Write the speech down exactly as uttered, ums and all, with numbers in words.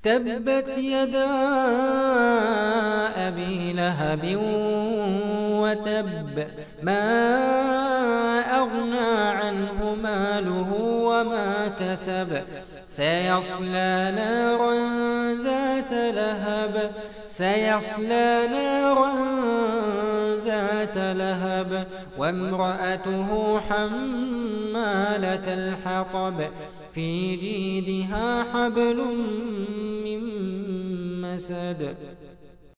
تبت يدا أبي لهب وتب ما أغنى عنه ماله وما كسب سيصلى نارا ذات لهب سيصلى نارا ذات لهب وامرأته حمالة الحطب في جيدها حبل من مسد